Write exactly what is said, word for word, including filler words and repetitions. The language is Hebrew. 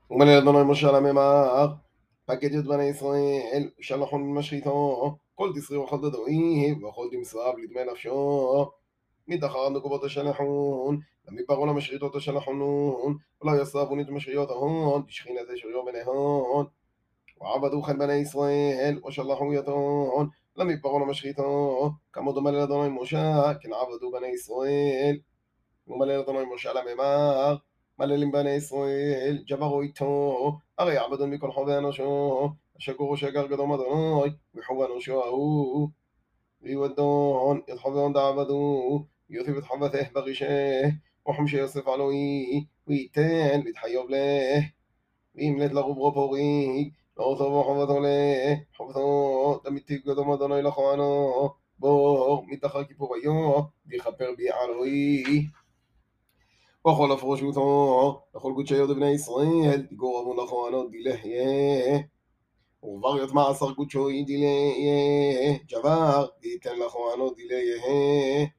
ומלא אדוני משה על הממר, פקד את בני ישראל, שלחון משחיתו, כל תסרי וכל דדוי, וכל תמסרב לדמי נפשו. מתחר נקובות השלחון, למדברו למשחיתות השלחונון, ולא יסרבון את משחיות ההון, תשכינת אשריו בניהון. ועבדו חן בני ישראל, ושלחו יתון, למדברו למשחיתו, כמו דומה לאדוני משה, כן עבדו בני ישראל. ומלא אדוני משה על הממר, מללים בני ישראל, ג'ברו איתו, הרי עבדון מכל חובי אנושו, השגורו שגר קדום אדוני, וחוב אנושו ההוא. ויודון, את חובון דעבדו, יוסיף את חובته ברישה, וחמשי יוסף עלוי, וייתן להתחיוב לה, וימלט לרוברו פורי, לא טובו חובתו לה, חובתו, דמיתיב קדום אדוני לכהנו, בור, מתחר כיפור היו, ויכפר בי עלוי. וכל הפרושותו, לכל קודשי יהודי בני ישראל, תגורבו לכהנות דילהיה. ובר יטמע עשר קודשו דילהיה, ג'בר, ויתן לכהנות דילהיה.